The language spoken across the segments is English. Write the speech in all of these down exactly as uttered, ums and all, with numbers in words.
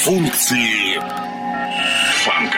Функции фанка.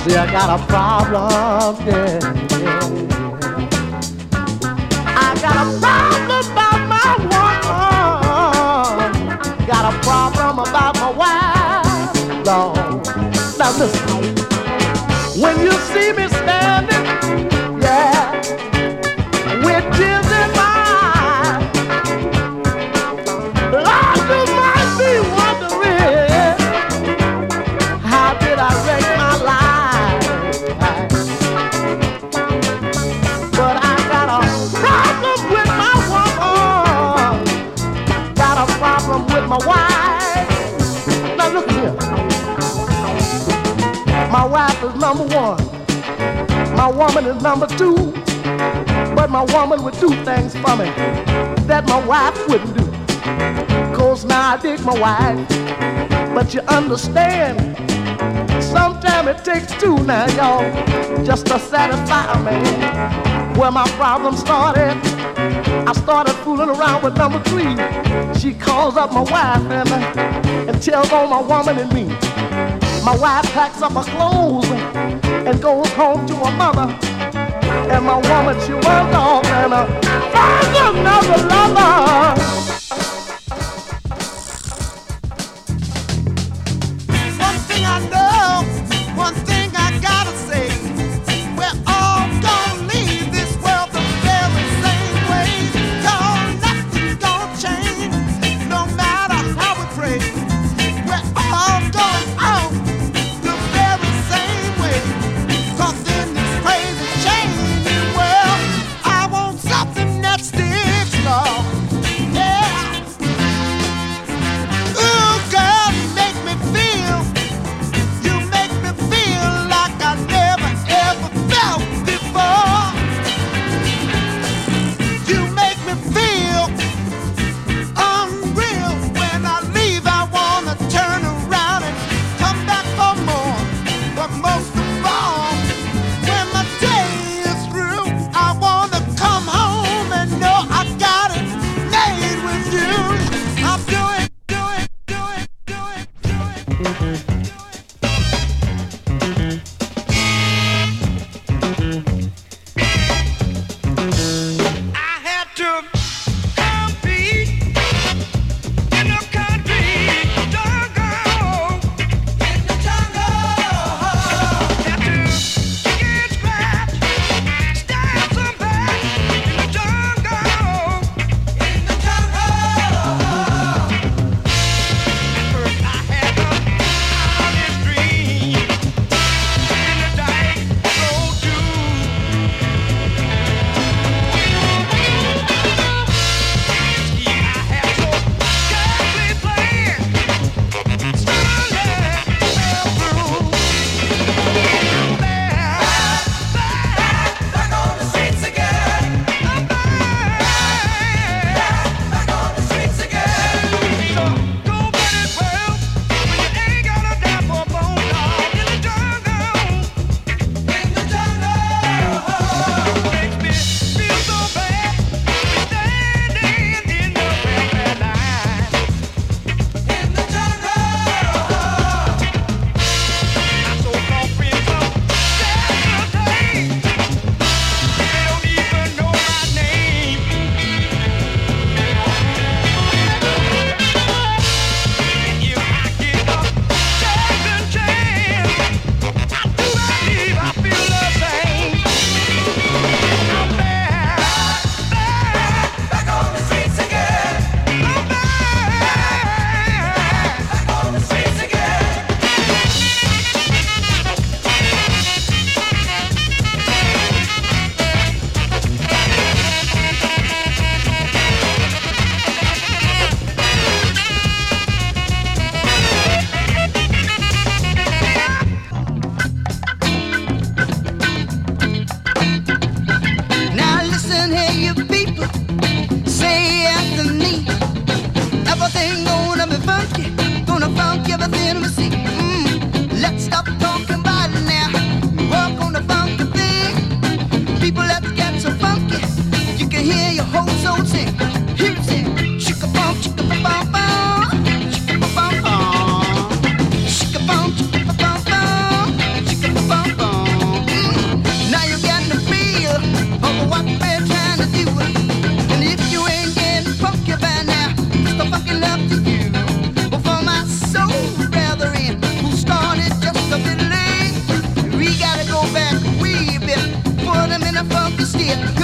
See, I got a problem, yeah, yeah. I got a problem about my woman. Got a problem about my wife, Lord. Now listen, when you see me standing, yeah, with tears in my eyes, Lord, you might be wondering, how did I wreck my life? But I got a problem with my woman, got a problem with my wife. Now look here, my wife is number one, my woman is number two, but my woman would do things for me that my wife wouldn't do. Cause now I dig my wife, but you understand, sometimes it takes two now, y'all, just to satisfy a man. Where my problem started, I started fooling around with number three. She calls up my wife and, uh, and tells on my woman and me. My wife packs up her clothes and goes home to her mother. And my woman, she runs off and uh, finds another lover. One thing I know, one thing I gotta say, we're all gonna leave this world the very same way. Cause nothing's gonna change, no matter how we pray. We're all going out the very same way. Cause in this crazy changing world, I want something that sticks, Lord. Yeah. Ooh, girl, you make me feel, you make me feel like I never ever felt before. You make me feel unreal. When I leave, I wanna turn around and come back for more. But most of all, when my day is through, I wanna come home and know I got it made with you. I'm doing, doing, doing, doing, doing, doing. I had to compete in the country jungle. In the jungle. Had to get scratched, stab some back in the jungle. In the jungle. First I had to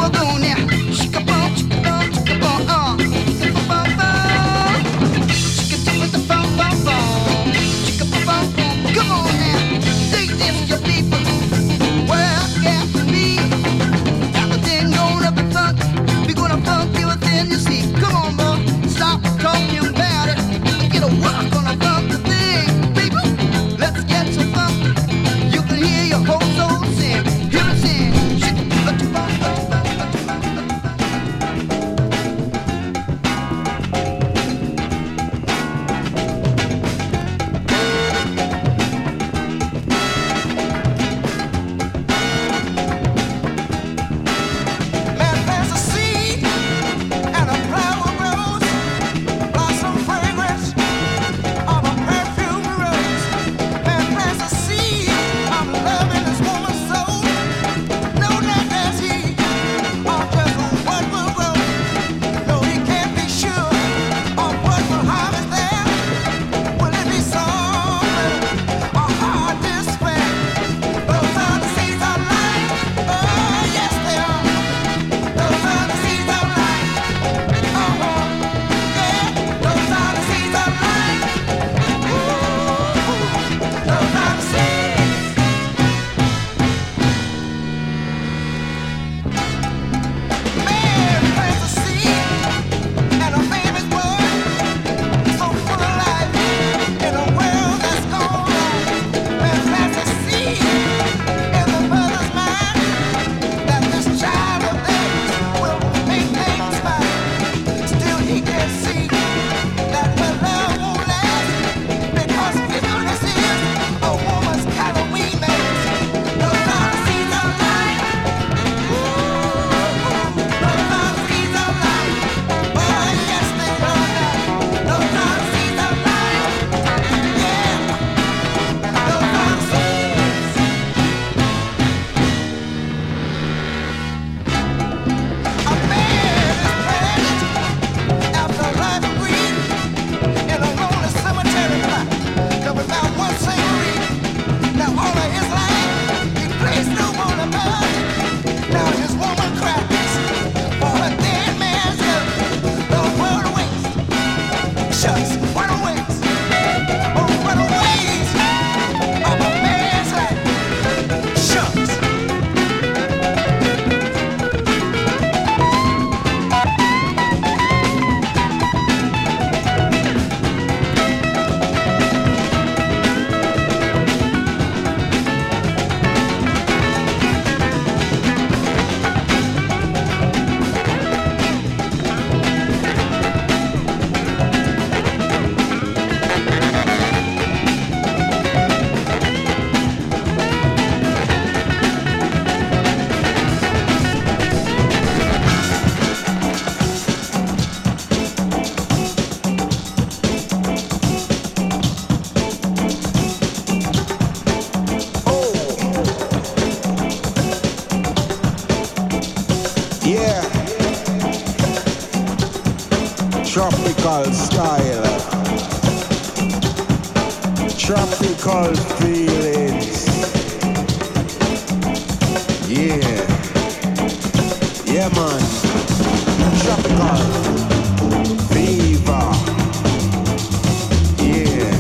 tropical style, tropical feelings. Yeah, yeah man, tropical fever. Yeah,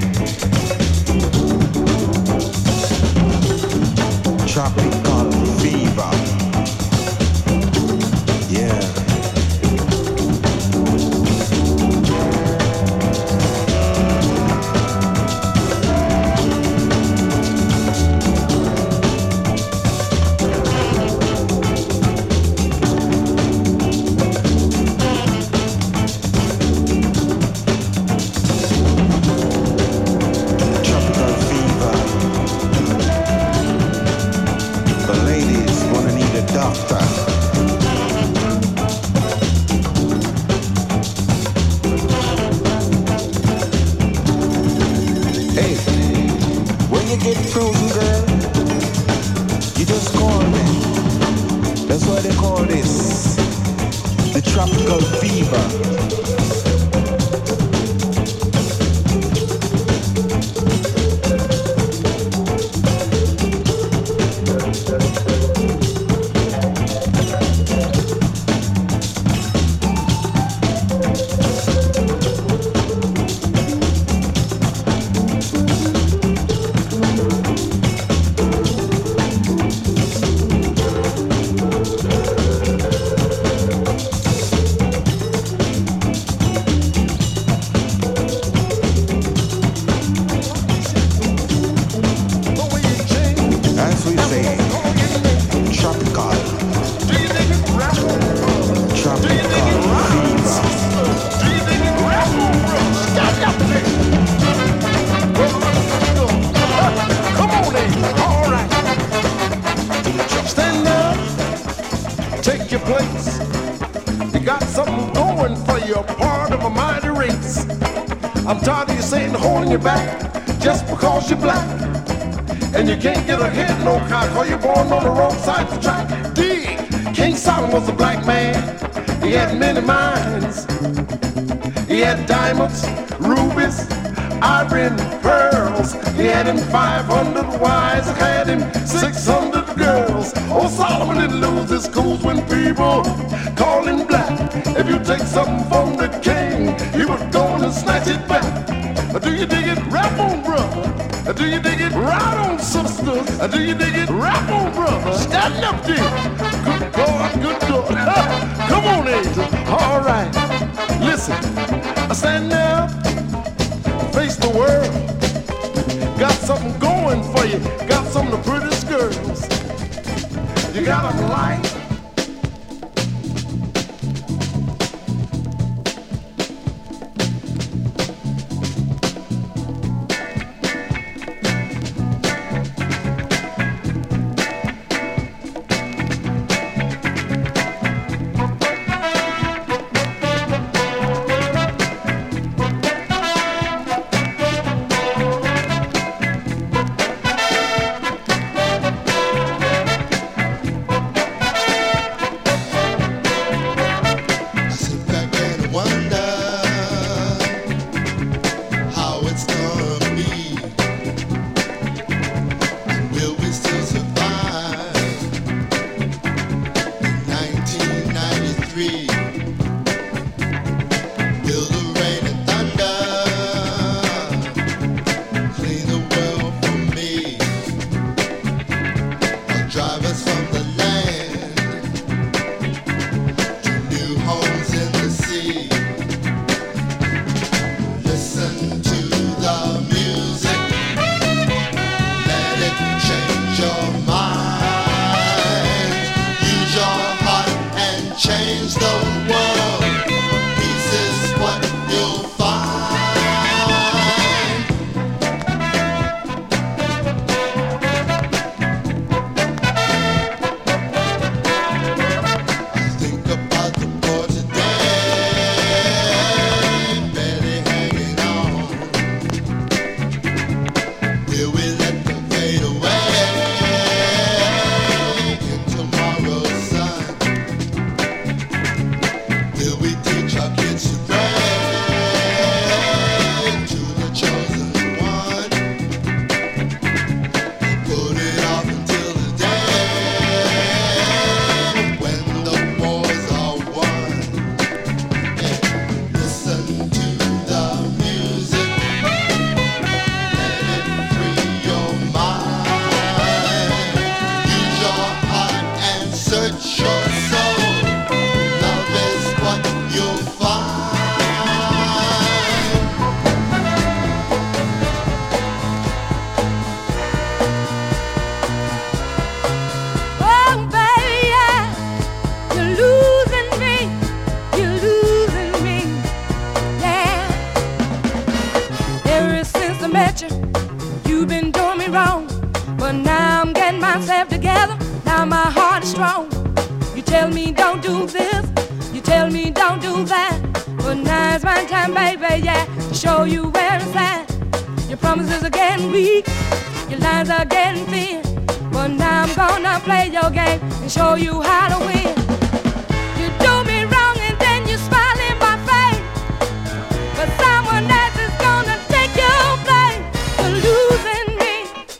tropical fever. Yeah. Tropical fever. tired of you saying holding your back just because you're black. And you can't get ahead no car cause you're born on the wrong side of the track. Dig! King Solomon was a black man. He had many mines. He had diamonds, rubies, ivory and pearls. He had him five hundred wives, had him six hundred girls. Oh, Solomon didn't lose his cool when people called him black. If you take something from the king, he would go and snatch it back. Do you dig it? Rap on, brother. Do you dig it? Right on, sisters. Do you dig it? Rap on, brother. Stand up there. Good God, good God. Come on, Angel. All right. Listen. Stand up. Face the world. Got something going for you. Got some of the prettiest girls. You got them light. Show you how to win. You do me wrong and then you smile in my face. But someone else is gonna take your place. You're losing me.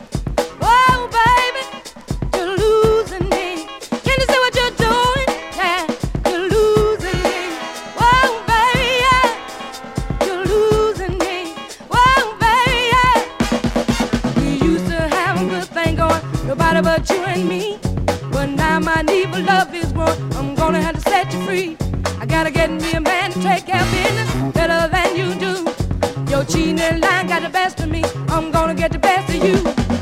Oh, baby, you're losing me. Can you see what you're doing? Yeah, you're losing me. Oh, baby, yeah, you're losing me. Oh, baby, yeah. We used to have a good thing going, nobody but you and me. But now my need for love is grown. I'm gonna have to set you free. I gotta get me a man to take care of business better than you do. Your cheating and lying got the best of me. I'm gonna get the best of you.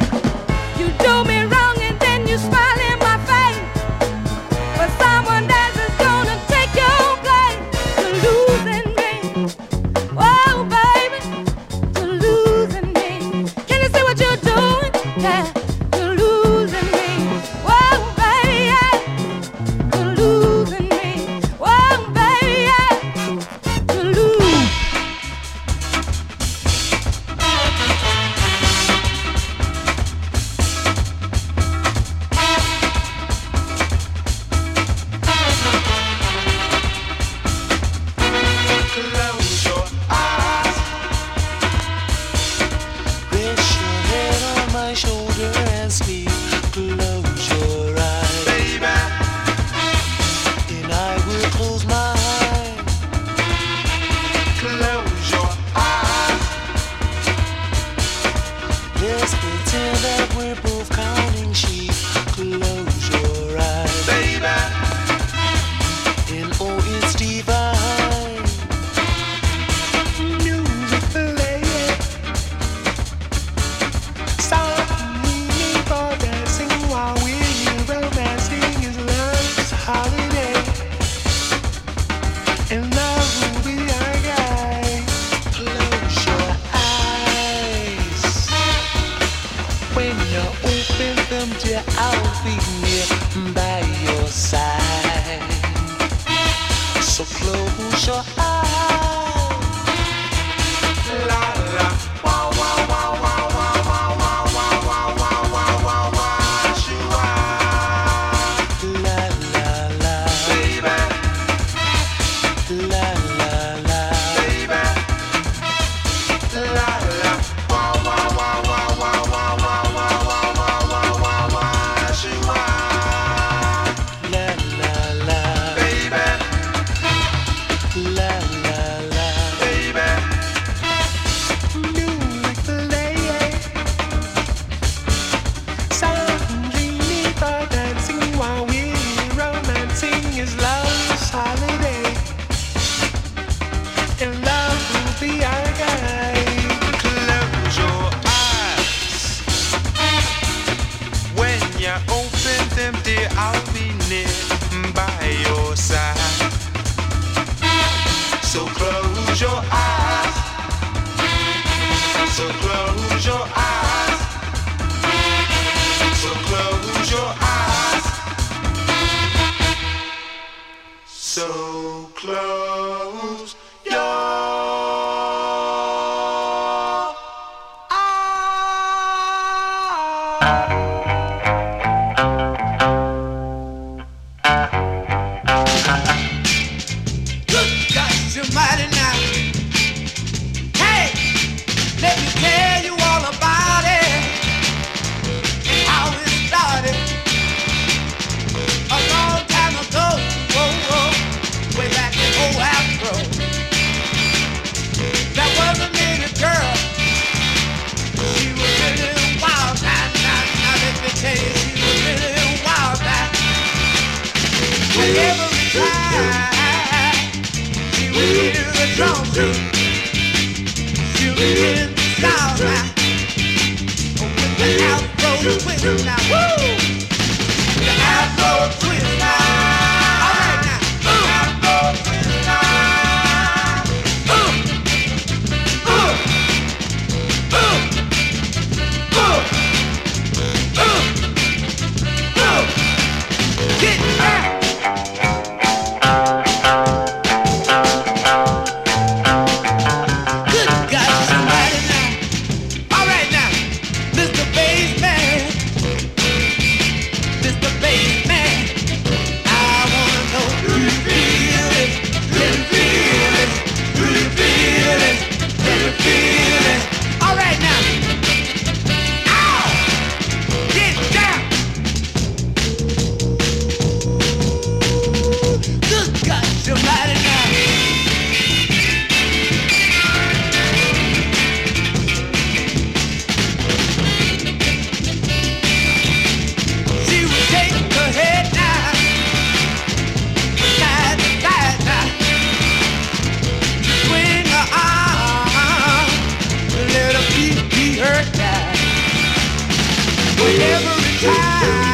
You do me wrong and then you smile in my face. But someone else is gonna take your place. You're losing me. Oh, baby, you're losing me. Can you see what you're doing? Yeah. Let's pretend that we're both counting sheep. Close your eyes, baby. And oh, it's divine. Music playing. Suddenly people dancing while we're here romancing is love's holiday. And love will be our guide. Close your eyes. When you open them, dear, I'll be here by your side. So close your eyes. La la. Wow, wow, wow, wow, wow, wow, wow, wow, wow, wow, wow, wow, wow, shoo-ah. La la la. Baby. La la la. Baby. La la. Wow, wow, wow, wow, wow, wow, wow, wow, wow, wow, wow, wow, shoo-ah. La la la. Baby. La la la. Baby. Music playing. Suddenly people dancing while we're romancing is love's holiday. And love will be our guide. Close your eyes. When you open them, dear, I'll be near by your side. So close your eyes. So close your eyes. So close your eyes. So close your Good God, somebody now. Hey, let me tell you all about it. How it started a long time ago. Whoa, whoa, way back in old Afro. There was a little girl. She was really wild. Now, now, now let me tell you, she was really wild. Now, whenever we tried. We hear the drum beat. You hear the sound now. With the Afro twist now. Woo! The Afro twist now. All right now. Uh. Afro twist now. Uh. Uh. Uh. Uh. Uh. Uh. Get back. Every time